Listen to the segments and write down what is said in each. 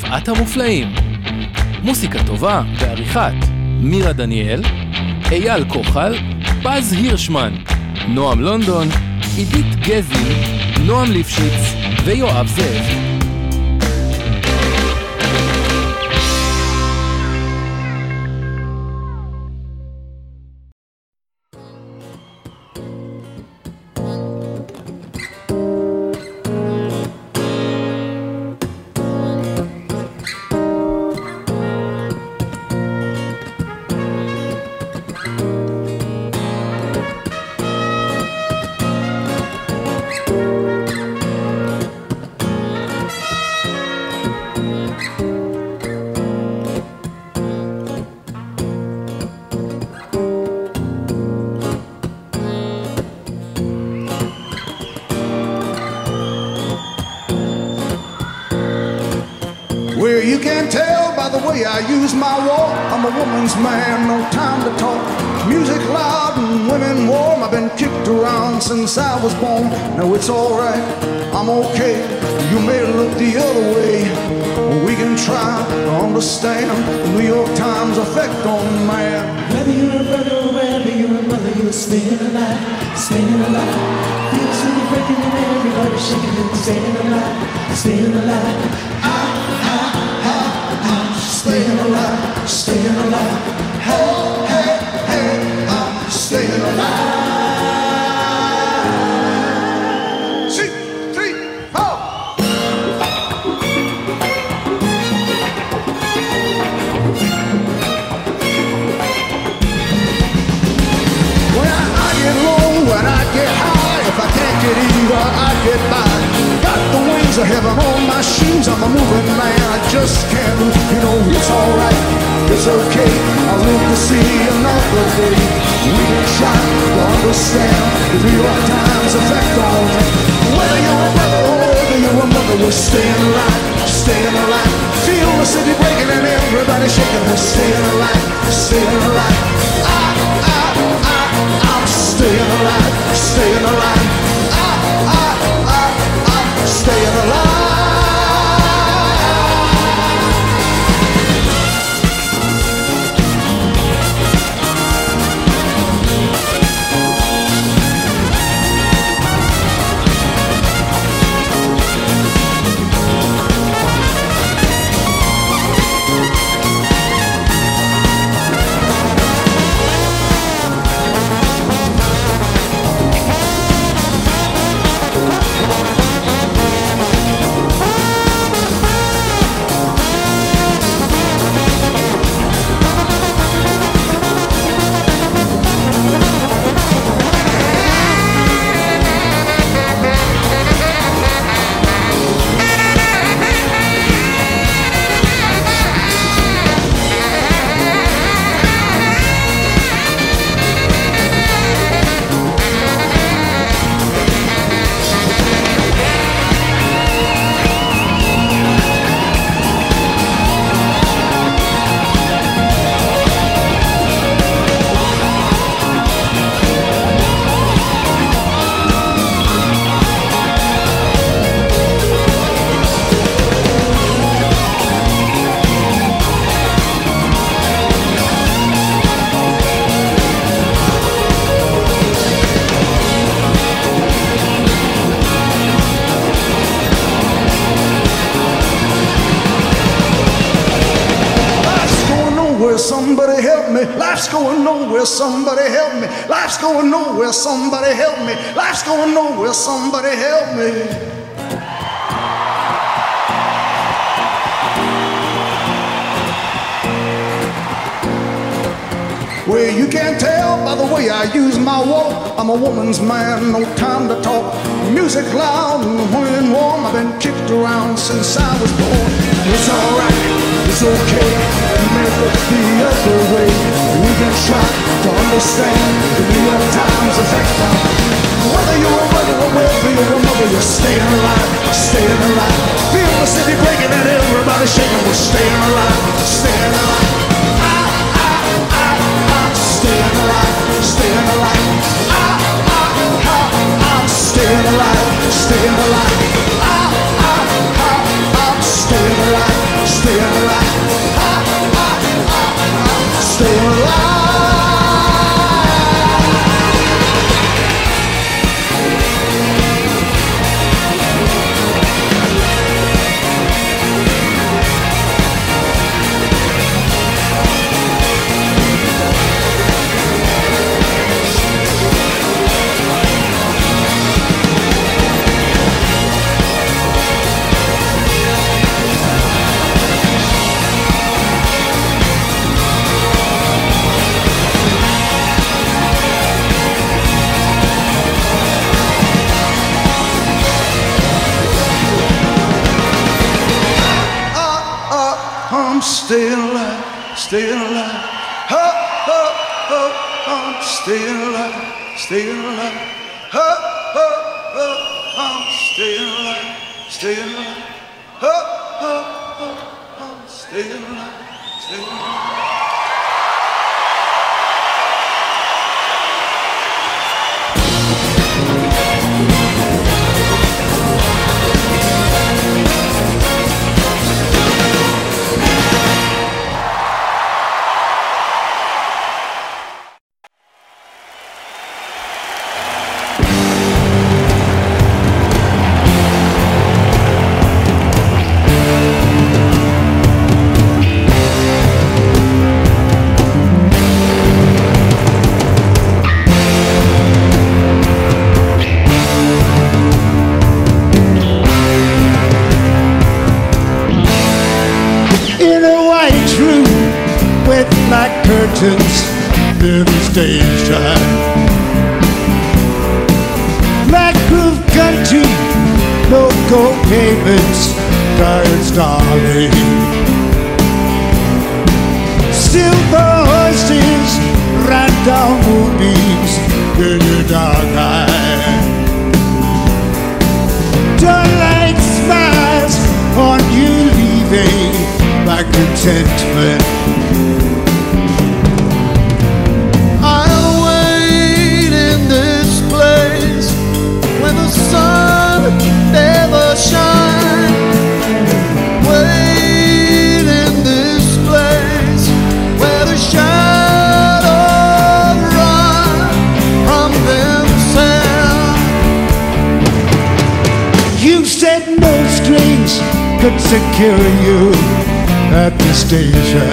ארבעת המופלאים. מוסיקה טובה ועריכת מירה דניאל, אייל כוחל, פז הירשמן, נועם לונדון, עידית גזי, נועם ליפשיץ ויואב זאב. I use my walk, I'm a woman's man, no time to talk. Music loud and women warm, I've been kicked around since I was born. Now it's alright, I'm okay, you may look the other way. We can try to understand the New York Times effect on man. Whether you're a brother or whether you're a mother, you're staying alive, staying alive. Feels so breaking and everybody shaking and staying alive, staying alive. Staying alive, staying alive. Hey, hey, hey, I'm staying alive. 6, 3, 4. When I get low, when I get high, if I can't get either, I get by. Got the wings of heaven on my shoes, I'm a moving man, I just can't move. You know, it's alright, it's okay, I'll live to see another day. We can try to understand the New York Times effect on me. Whether you're a brother or whether you're a mother, we're staying alive, staying alive. Feel the city breaking and everybody shaking, we're staying alive, staying alive. I'm staying alive, staying alive. Staying alive. Somebody help me. Life's going nowhere. Somebody help me. Life's going nowhere. Somebody help me. Life's going nowhere. Somebody help me. Well, you can't tell by the way I use my walk. I'm a woman's man, no time to talk. Music loud and wind warm. I've been kicked around since I was born. It's alright, it's okay. You may look the other way. We can try to understand the New York Times effect on whether you're a brother or whether you're a mother. You're staying alive, staying alive. Feel the city breaking and everybody shaking. We're staying alive, staying alive. Staying alive, staying alive. I'm staying alive, staying alive. I'm staying alive, staying alive. staying alive, staying alive. Oh, oh, oh, I'm staying alive, staying alive. Oh, oh, oh, I'm staying alive, staying alive. Oh, oh, oh, I'm staying alive, staying alive. Near the station, black roof country, local pavements, tired starling, silver horses ride down moonbeams in your dark eye. Starlight smiles on you leaving by contentment. Never shine. Wait in this place where the shadows run from themselves. You said no strings could secure you at the station.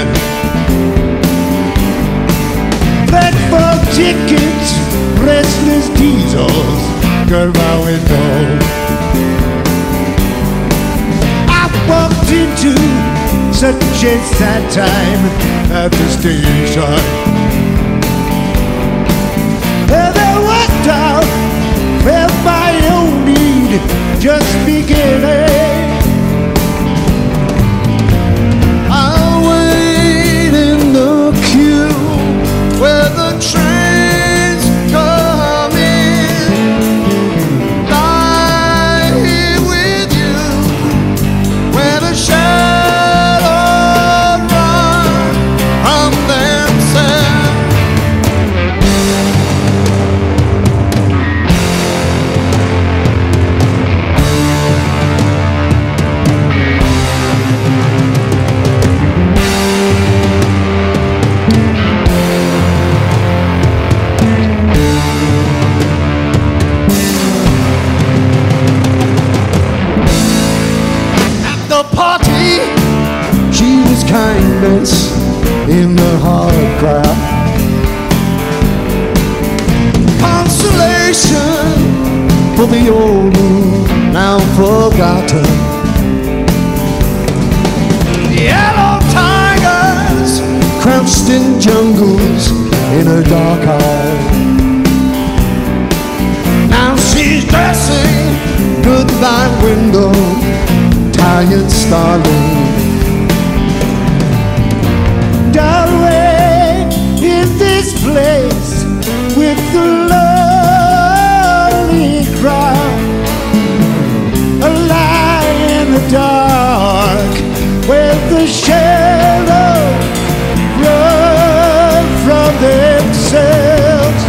Platform tickets, restless diesels, girl, my window. I walked into such a sad time at the station. And I walked out, felt my own need just beginning. I'll wait in the queue where the trains come in. Kindness in the hard crowd, consolation for the old moon now forgotten. Yellow tigers crouched in jungles in her dark eye. Now she's dressing goodbye window, tired starling. Darling, in this place with the lonely crowd, a lie in the dark where the shadows run from themselves.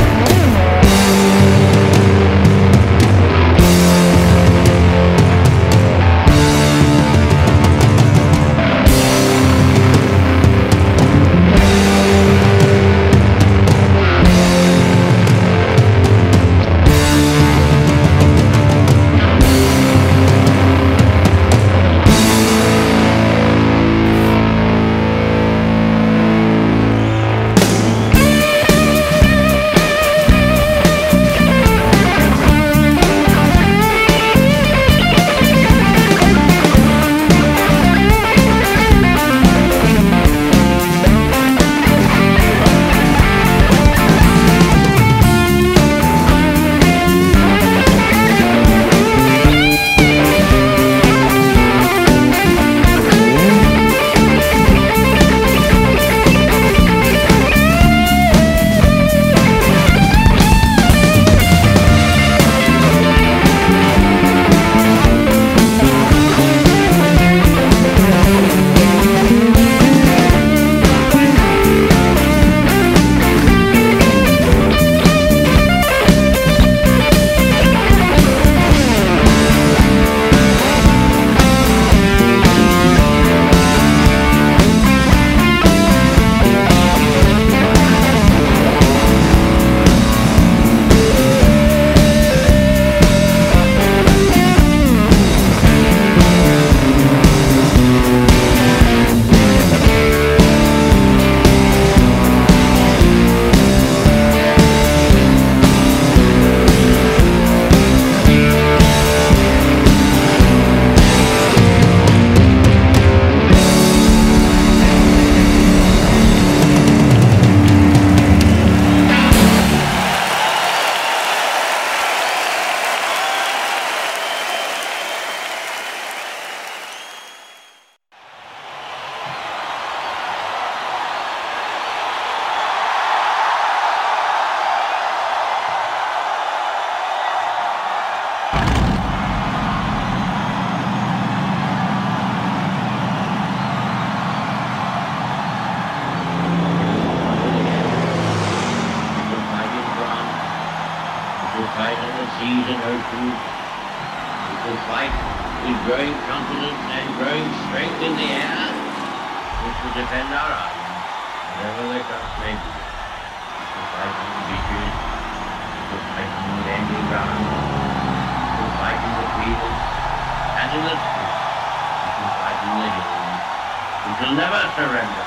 and oceans. We can fight with growing confidence and growing strength in the air, which will defend our arms, wherever the cost may be. We can fight on the beaches, we can fight on the landing grounds, we can fight in the fields and in the streets, we can fight in the hills. We shall never surrender.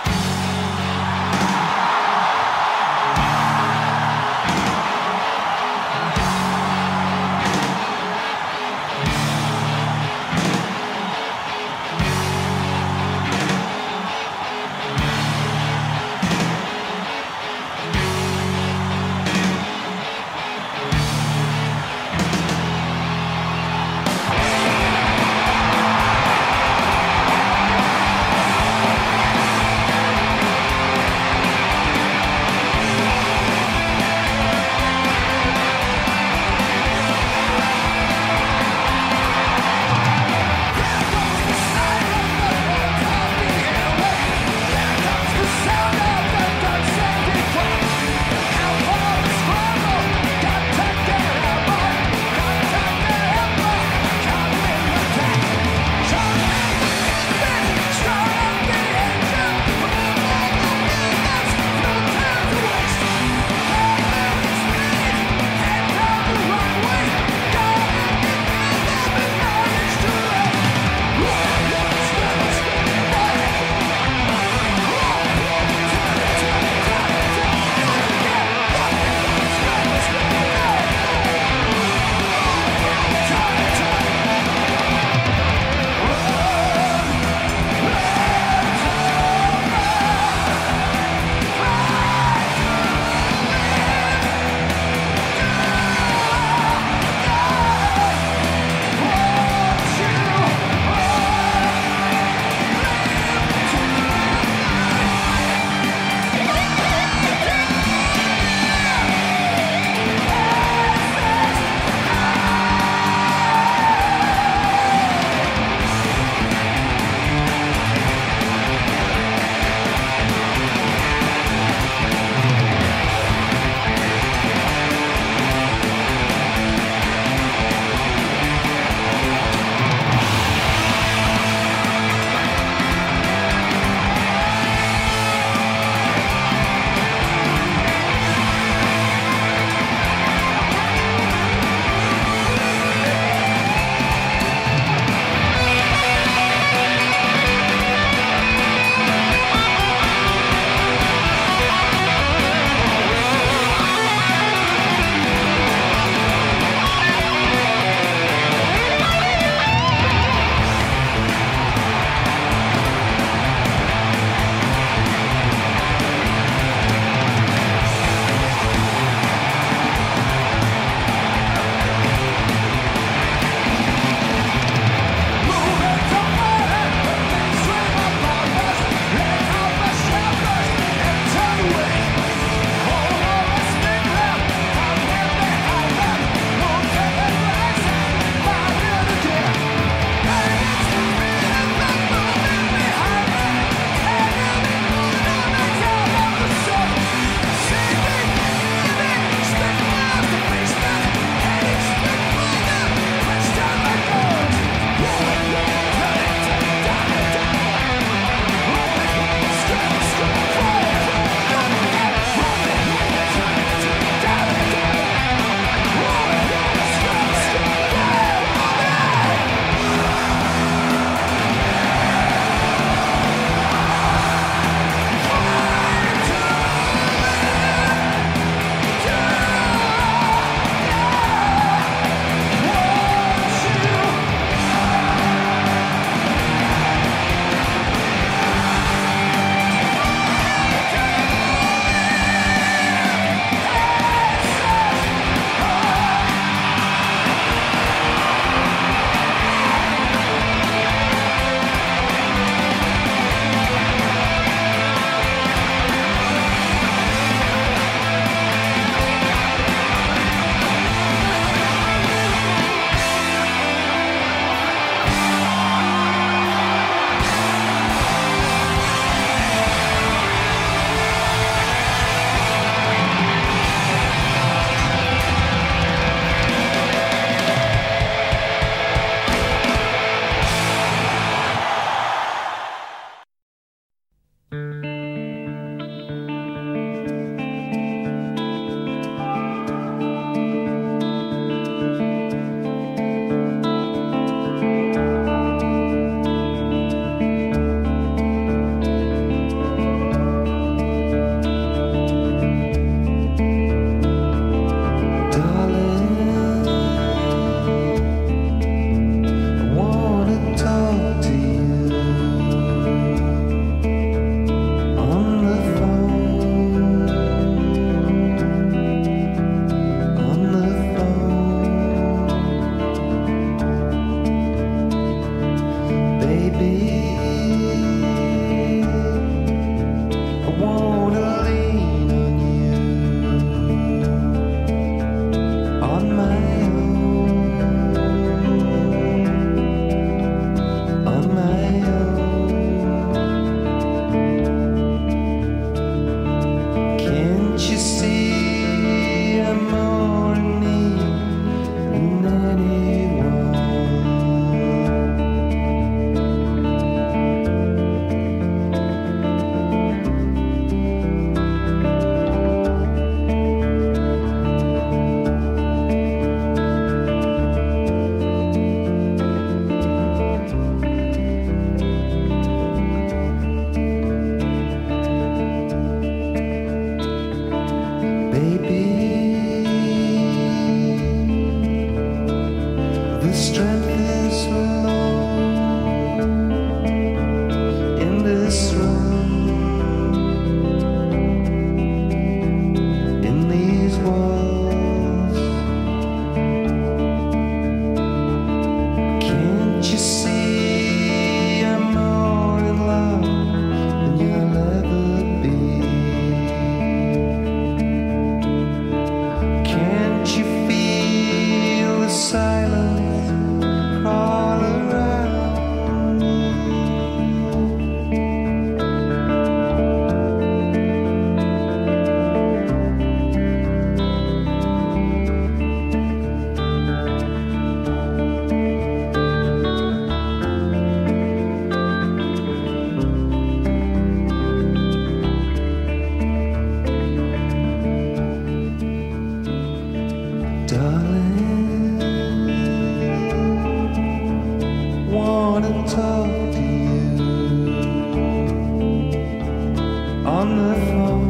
on the floor,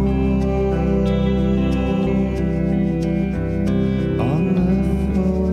on the floor.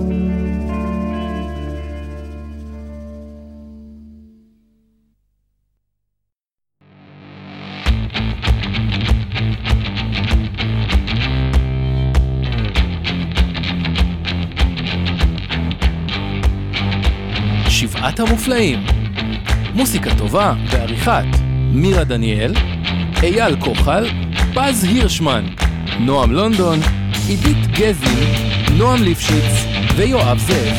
שבעת המופלאים. מוסיקה טובה בעריכת מירה דניאל, אייל כוחל, פז הירשמן, נועם לונדון, עידית גזין, נועם ליפשיץ ויואב זאב.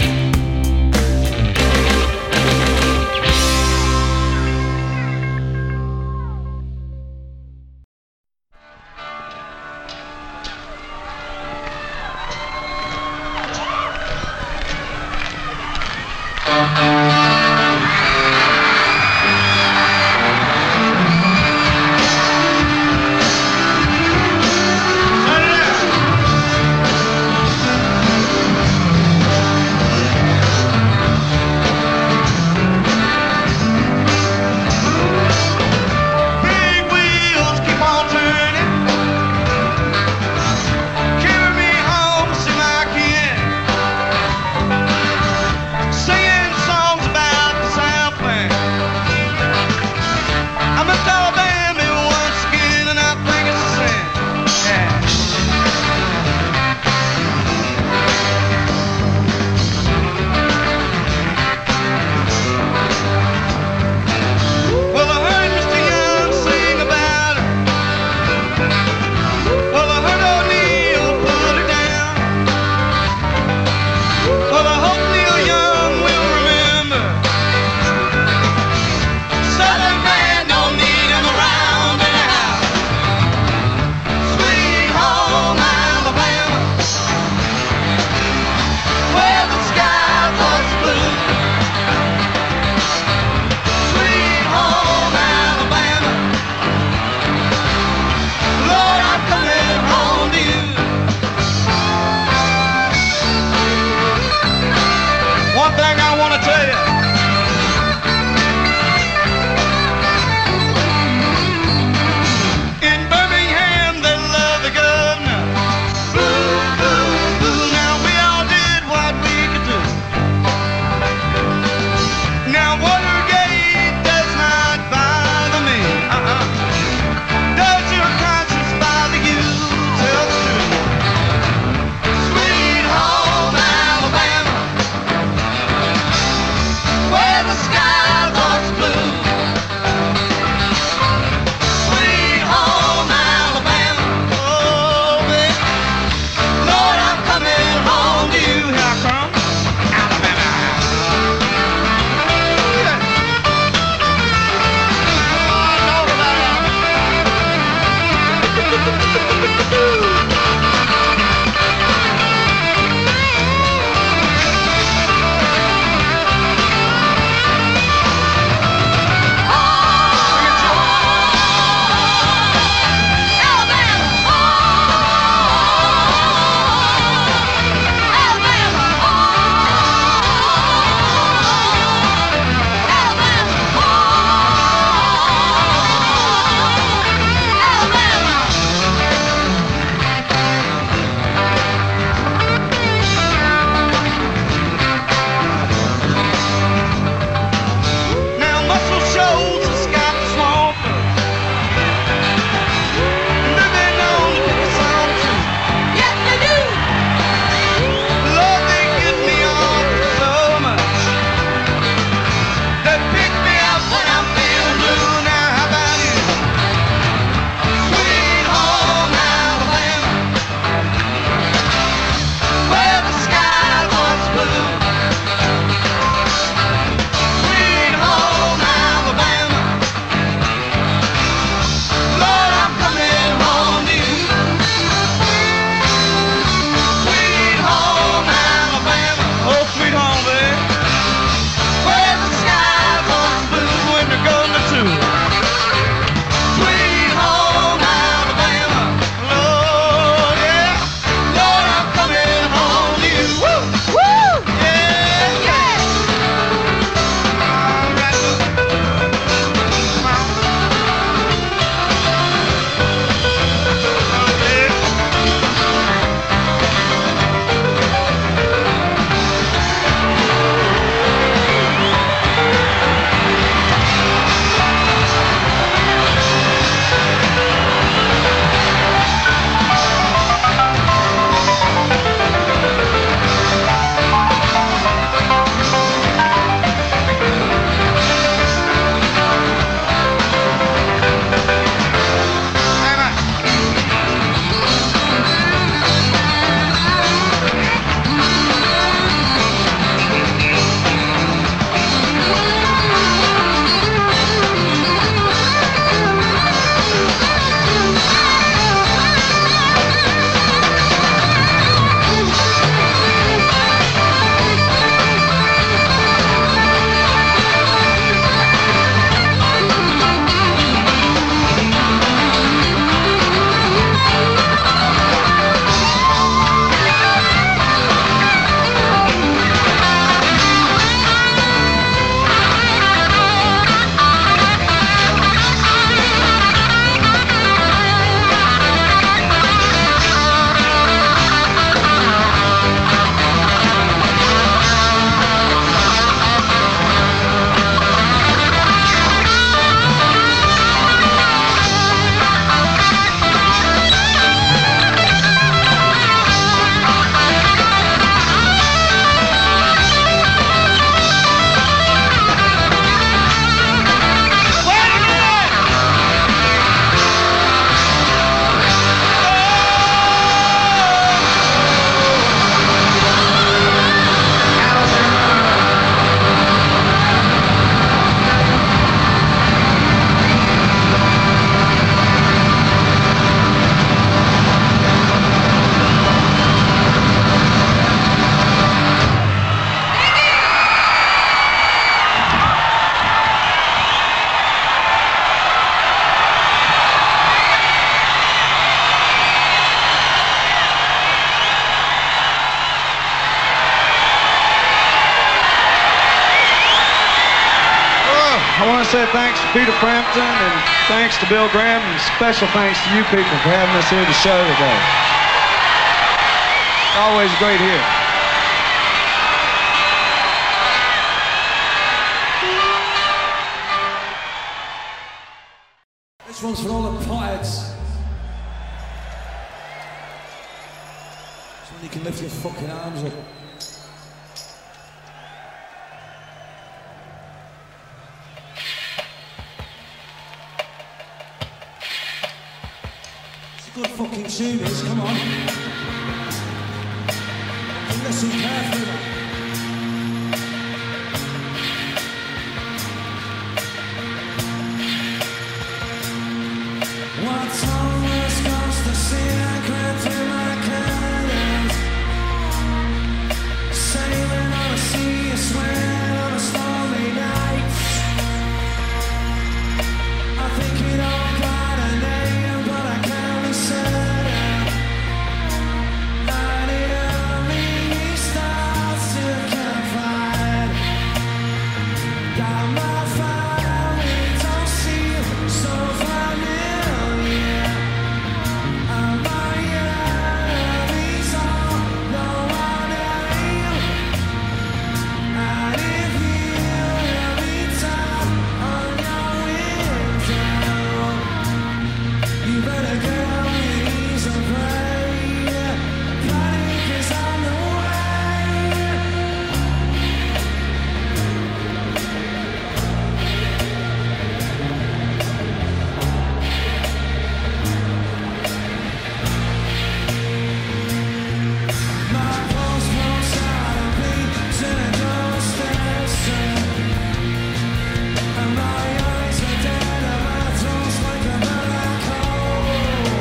say thanks to Peter Frampton and thanks to Bill Graham and special thanks to you people for having us here at the show today. Always great here. This one's for all the potheads. So when you can lift your fucking arms up. Good fucking tune this, come on. Listen carefully, man. What's almost cost to see I crept through my curtains, sailing on a sea, sweating on a stormy night. I think it all got a name, but I can't be certain. And it only starts to confide. Got my family, don't seem so familiar. And my enemies all know my name. And if you hear me tap on your window, you better get on your knees and pray. Panic is on the way. My pulse pumps out of beats in a doorstep set. And my eyes are dead and my throat's like a black hole.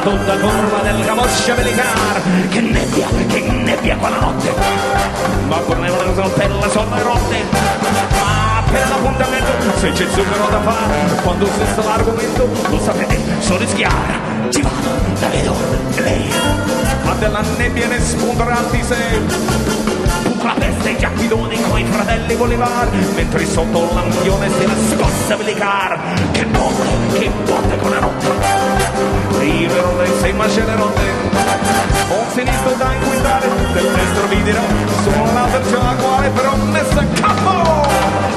tutta curva del camoscio militar. Che nebbia quella notte, ma correvano le coltelle sono erotte. Ma per l'appuntamento, se c'è zucchero da fare, quando si sta l'argomento, lo sapete, so rischiare. Ci vado, la vedo, e lei ha della nebbia ne spunteranti se la peste già guidoni coi fratelli Bolivar, mentre sotto l'ambione si nascosta militar. Che botte con la notte, libero dei sei macene rotte. Un sinistro da inquintare, del destro vi dirò, sono la terza quale però messa a capo.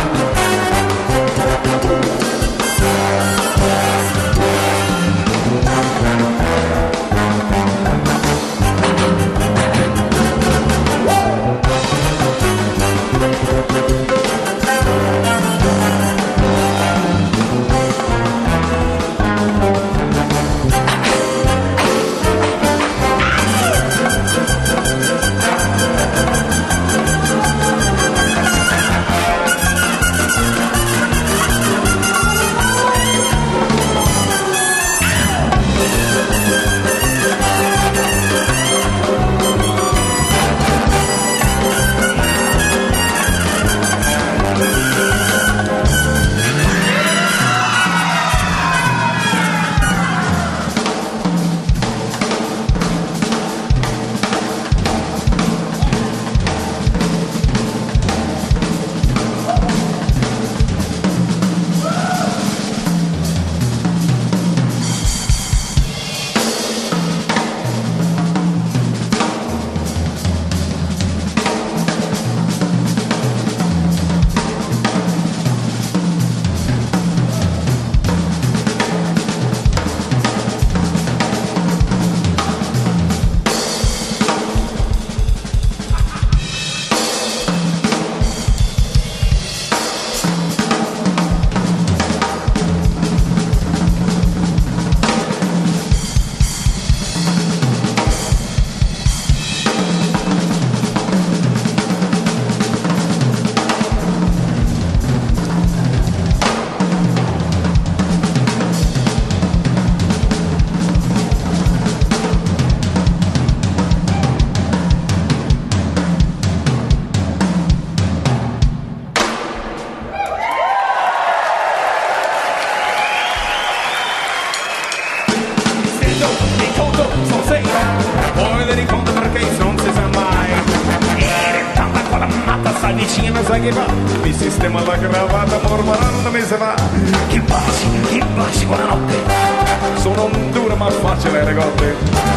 Sai che fa? Mi sistema la cravatta mormorando mi se va. Che baci, buonanotte. Sono un duro ma facile regotte.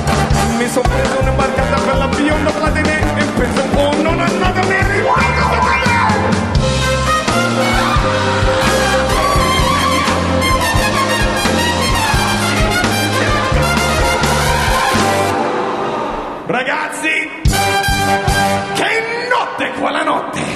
Mi sono preso un'imbarcata per la bionda platine e penso un po' non è andata bene. Ragazzi, che notte quella notte!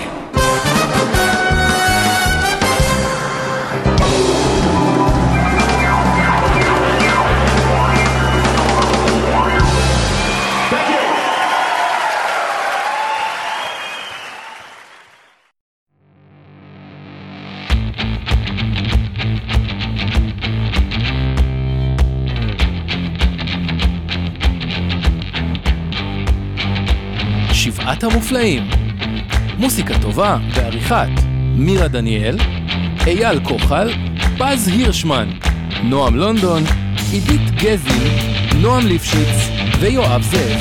שבעת המופלאים. מוסיקה טובה בעריכת מירה דניאל, אייל כוחל, פז הירשמן, נועם לונדון, עידית גזין, נועם ליפשיץ ויואב זאב.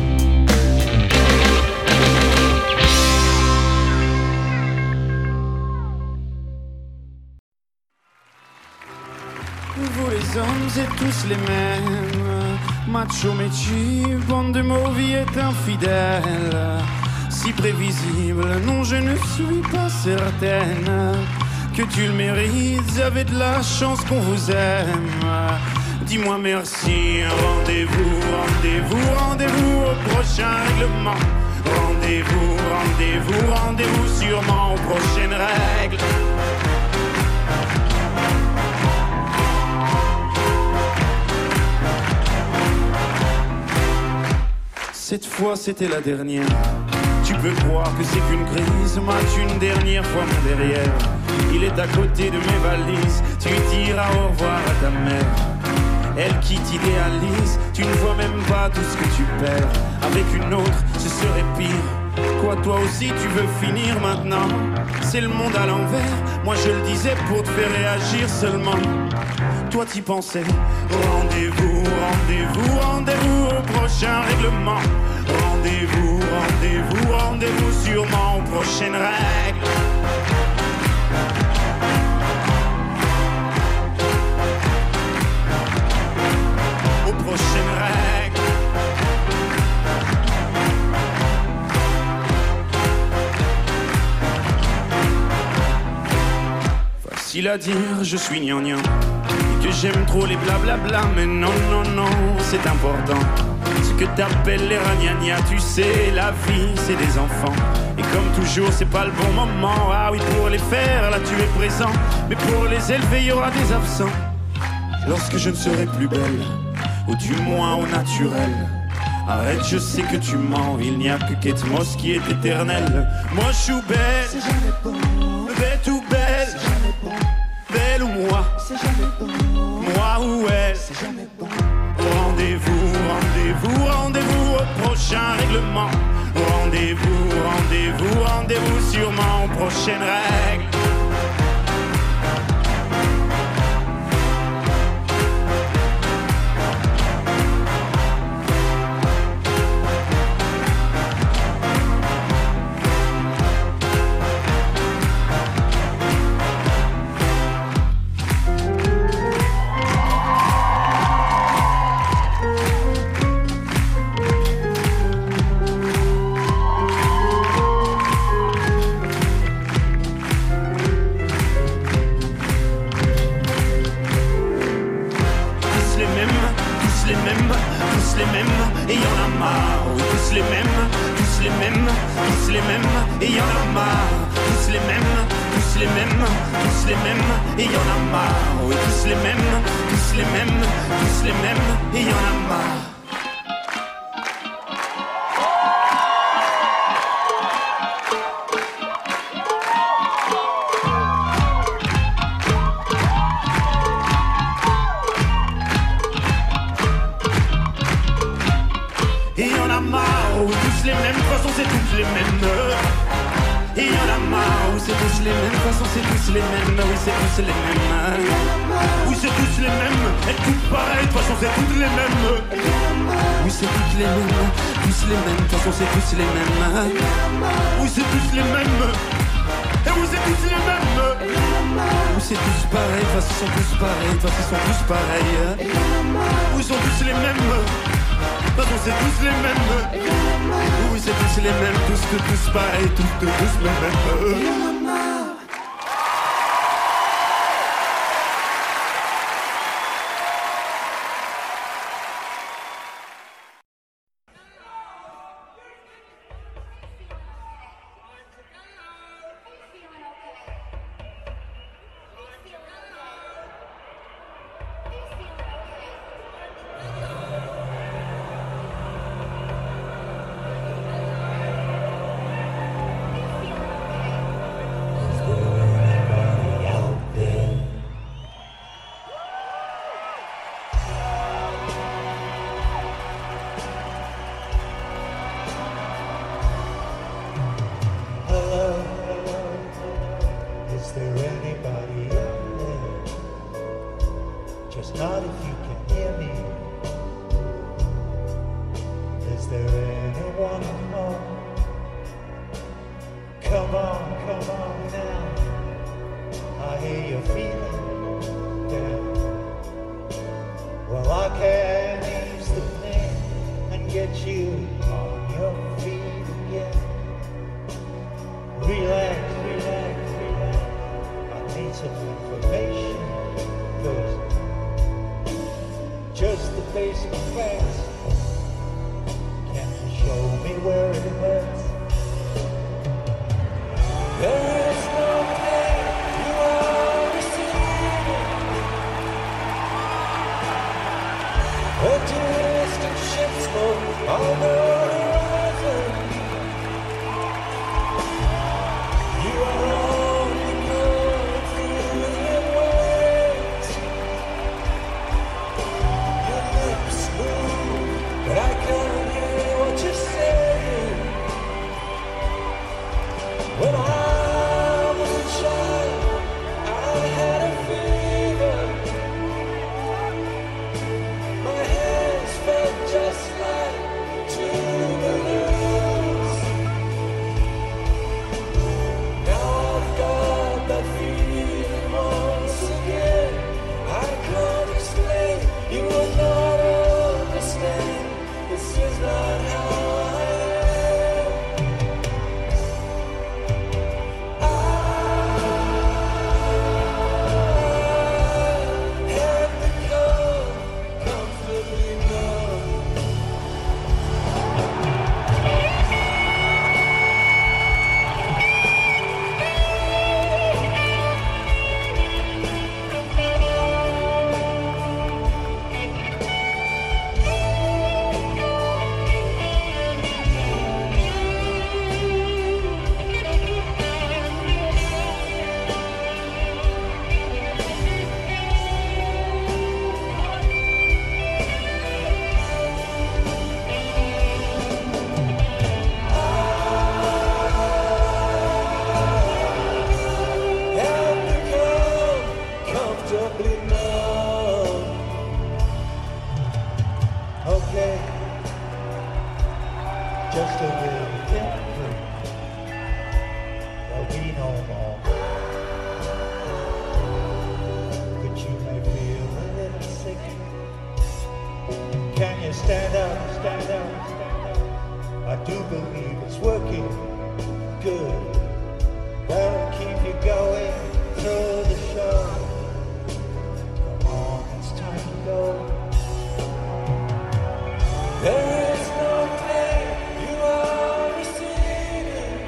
Vous les hommes êtes tous les mêmes, macho métier, bande de mauviettes infidèles, si prévisible, non je ne suis pas certaine que tu le mérites, vous avez de la chance qu'on vous aime. Dis-moi merci, rendez-vous, rendez-vous, rendez-vous au prochain règlement. Rendez-vous, rendez-vous, rendez-vous sûrement aux prochaines règles. Cette fois c'était la dernière. Tu peux croire que c'est qu'une crise, mate une dernière fois mon derrière. Il est à côté de mes valises, tu diras au revoir à ta mère. elle qui t'idéalise. Tu ne vois même pas tout ce que tu perds. Avec une autre, ce serait pire. Quoi, toi aussi tu veux finir maintenant? C'est le monde à l'envers. Moi je le disais pour te faire réagir seulement. Toi t'y pensais. Rendez-vous, rendez-vous, rendez-vous au prochain règlement. Rendez-vous, rendez-vous, rendez-vous sûrement aux prochaines règles. Aux prochaines règles. Facile à dire, je suis gnangnan et que j'aime trop les blablabla, mais non, non, non, c'est important. Ce que t'appelles les ragnagnas, tu sais, la vie, c'est des enfants. Et comme toujours, c'est pas le bon moment. Ah oui, pour les faire, là tu es présent. Mais pour les élever, il y aura des absents. Lorsque je ne serai plus belle, ou du moins au naturel. Arrête, je sais que tu mens. Il n'y a que Kate Moss qui est éternelle. Moi je suis belle, c'est jamais bon. Bête ou belle, c'est jamais bon. Belle ou moi, c'est jamais bon. Moi ou elle, c'est jamais bon. Rendez-vous, rendez-vous, rendez-vous au prochain règlement. Rendez-vous, rendez-vous, rendez-vous sûrement aux prochaines règles. you stand up, stand up, stand up. I do believe it's working good. That'll keep you going through the show. Come on, it's time to go. There is no pain you are receiving.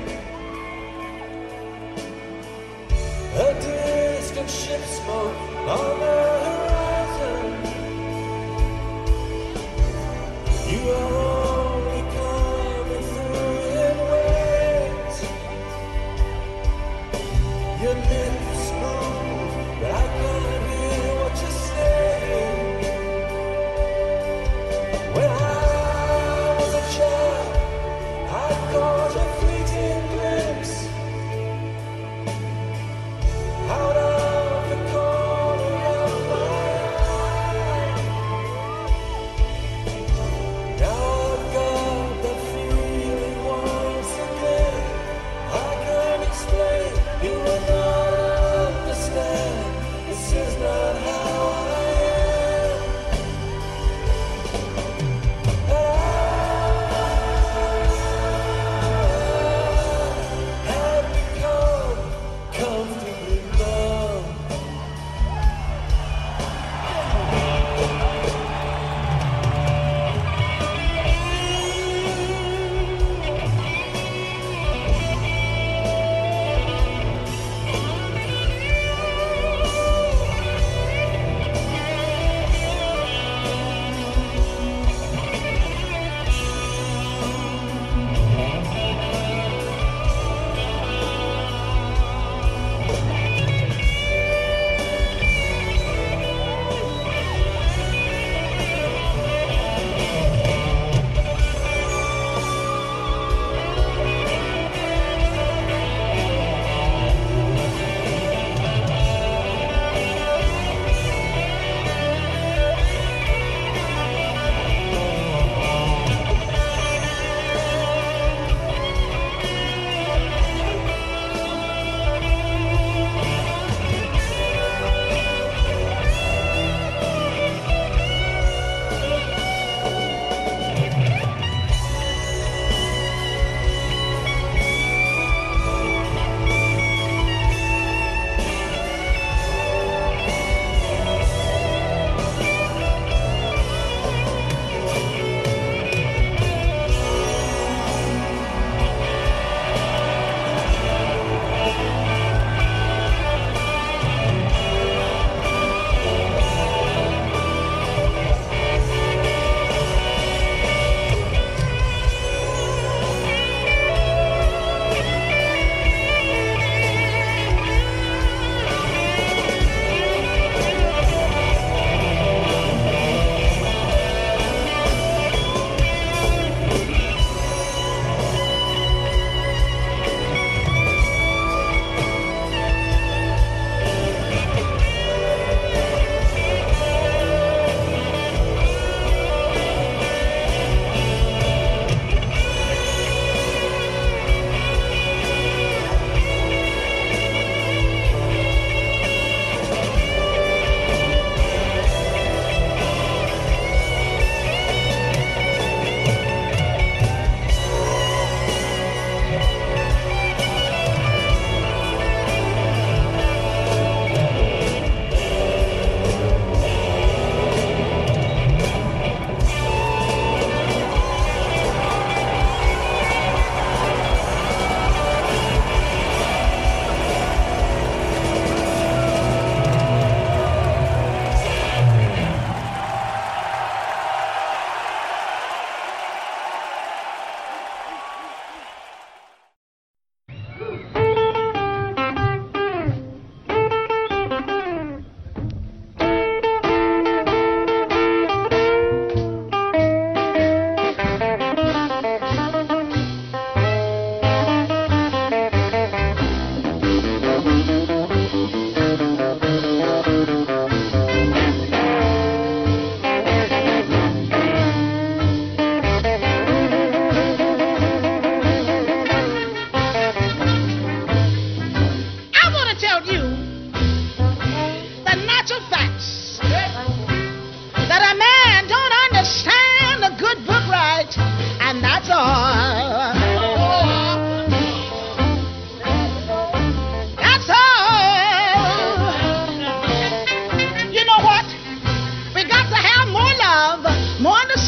A distant ship smoke on the horizon. You are only coming through in waves. Your lips move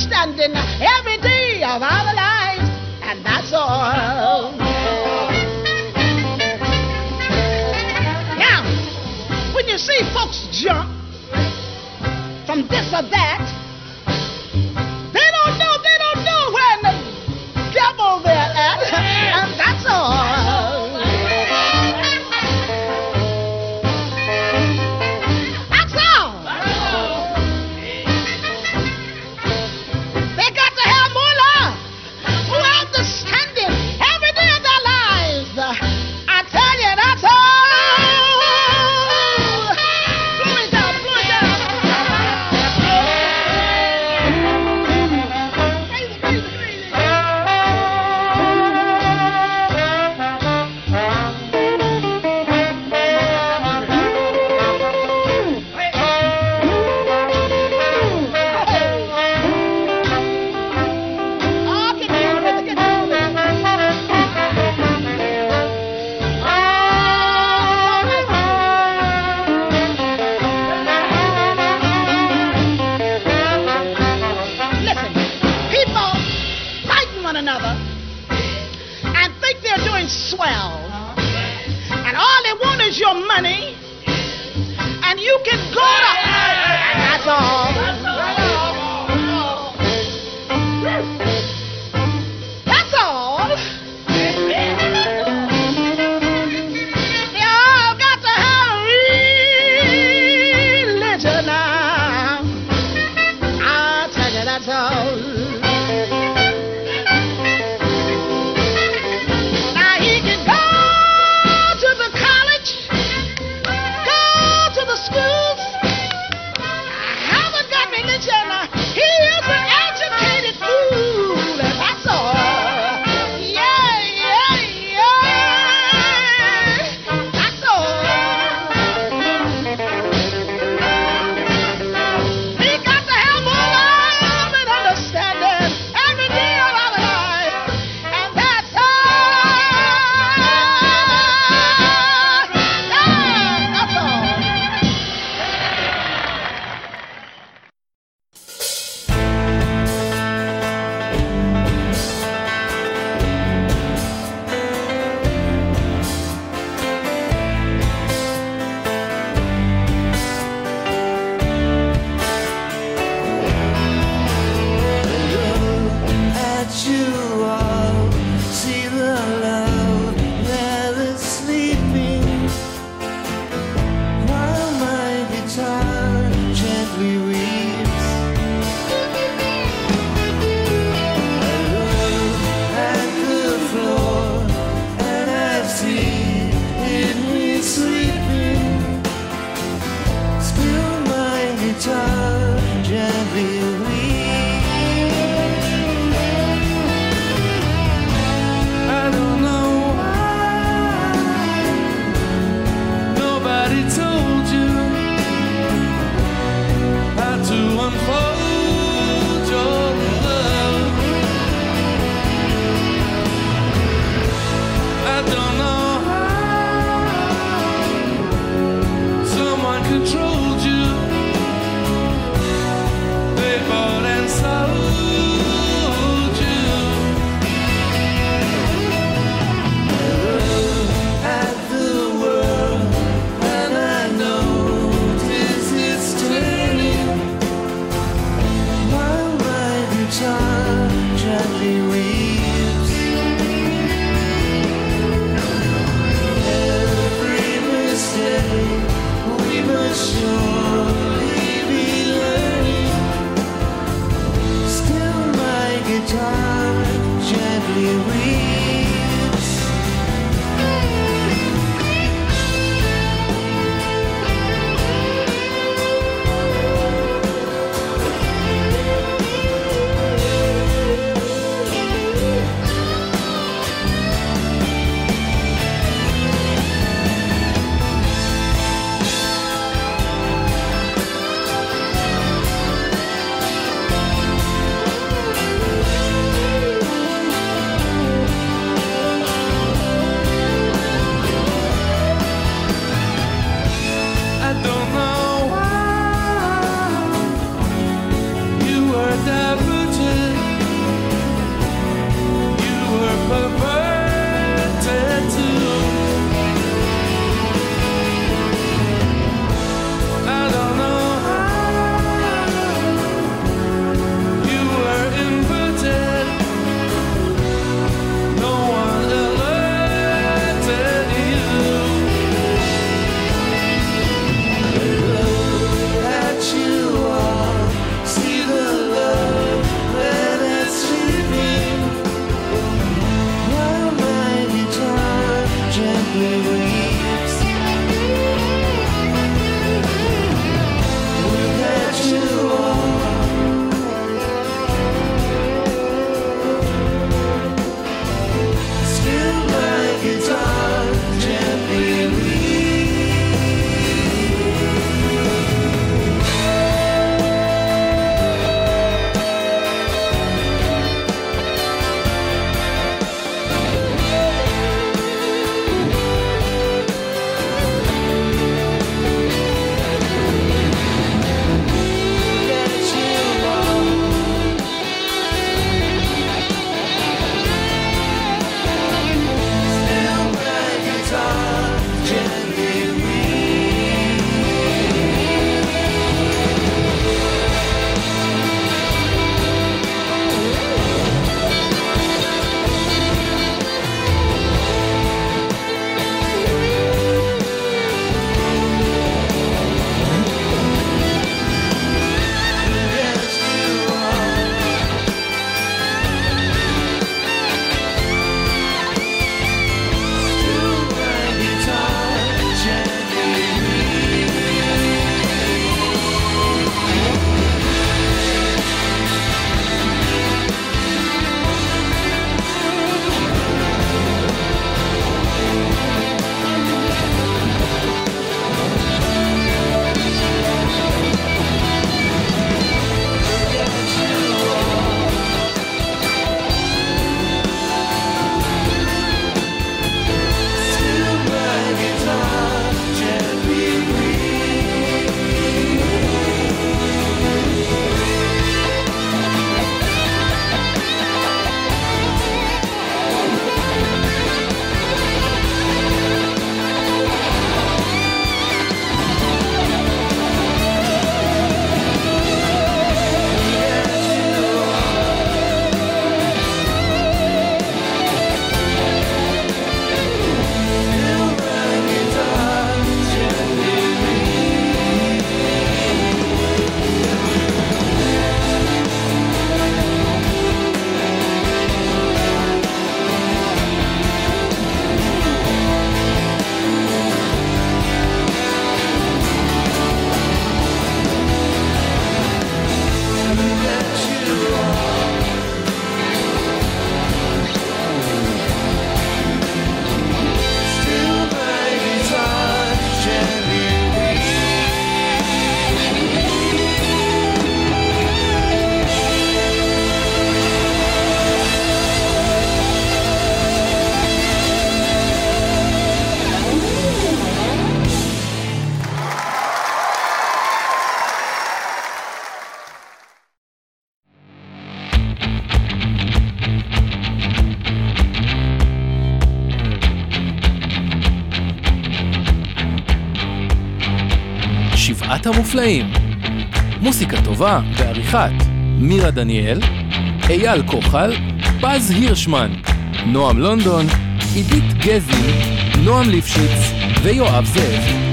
understanding every day of our lives, and that's all. Now, when you see folks jump from this or that, they don't know where the devil they're at, and that's all. That's all. They got to have more love, more understanding every day of their lives. I tell you, that's all. Blow it down, blow it down. Crazy, crazy, crazy. Oh, get down with it, get down with it. Listen, people fighting one another and think they're doing swell. And all they want is your money. And you can go to... And that's all. That's all. They all got to have religion now. I'll tell you, that's all. Now he can go to the college, go to the schools. I haven't got religion. He is an educated fool, and that's all. Yeah, yeah, yeah. That's all. We got to have more love and understanding every day of our life, and that's all. Yeah, that's all. At you all, see the love that is sleeping, while my guitar gently weeps. I look at the floor and I see it me sleeping, still my guitar gently weeps. I don't know why nobody told you how to unfold your love. I don't know how someone controlled you. They bought and sold you. At the world, and I notice it's turning, while my guitar gently weeps. Every mistake we must surely be learning, still my guitar gently weeps. שבעת המופלאים. מוסיקה טובה ועריכת מירה דניאל, אייל כוחל, פז הירשמן, נועם לונדון, עידית גזין, נועם ליפשיץ ויואב זאב.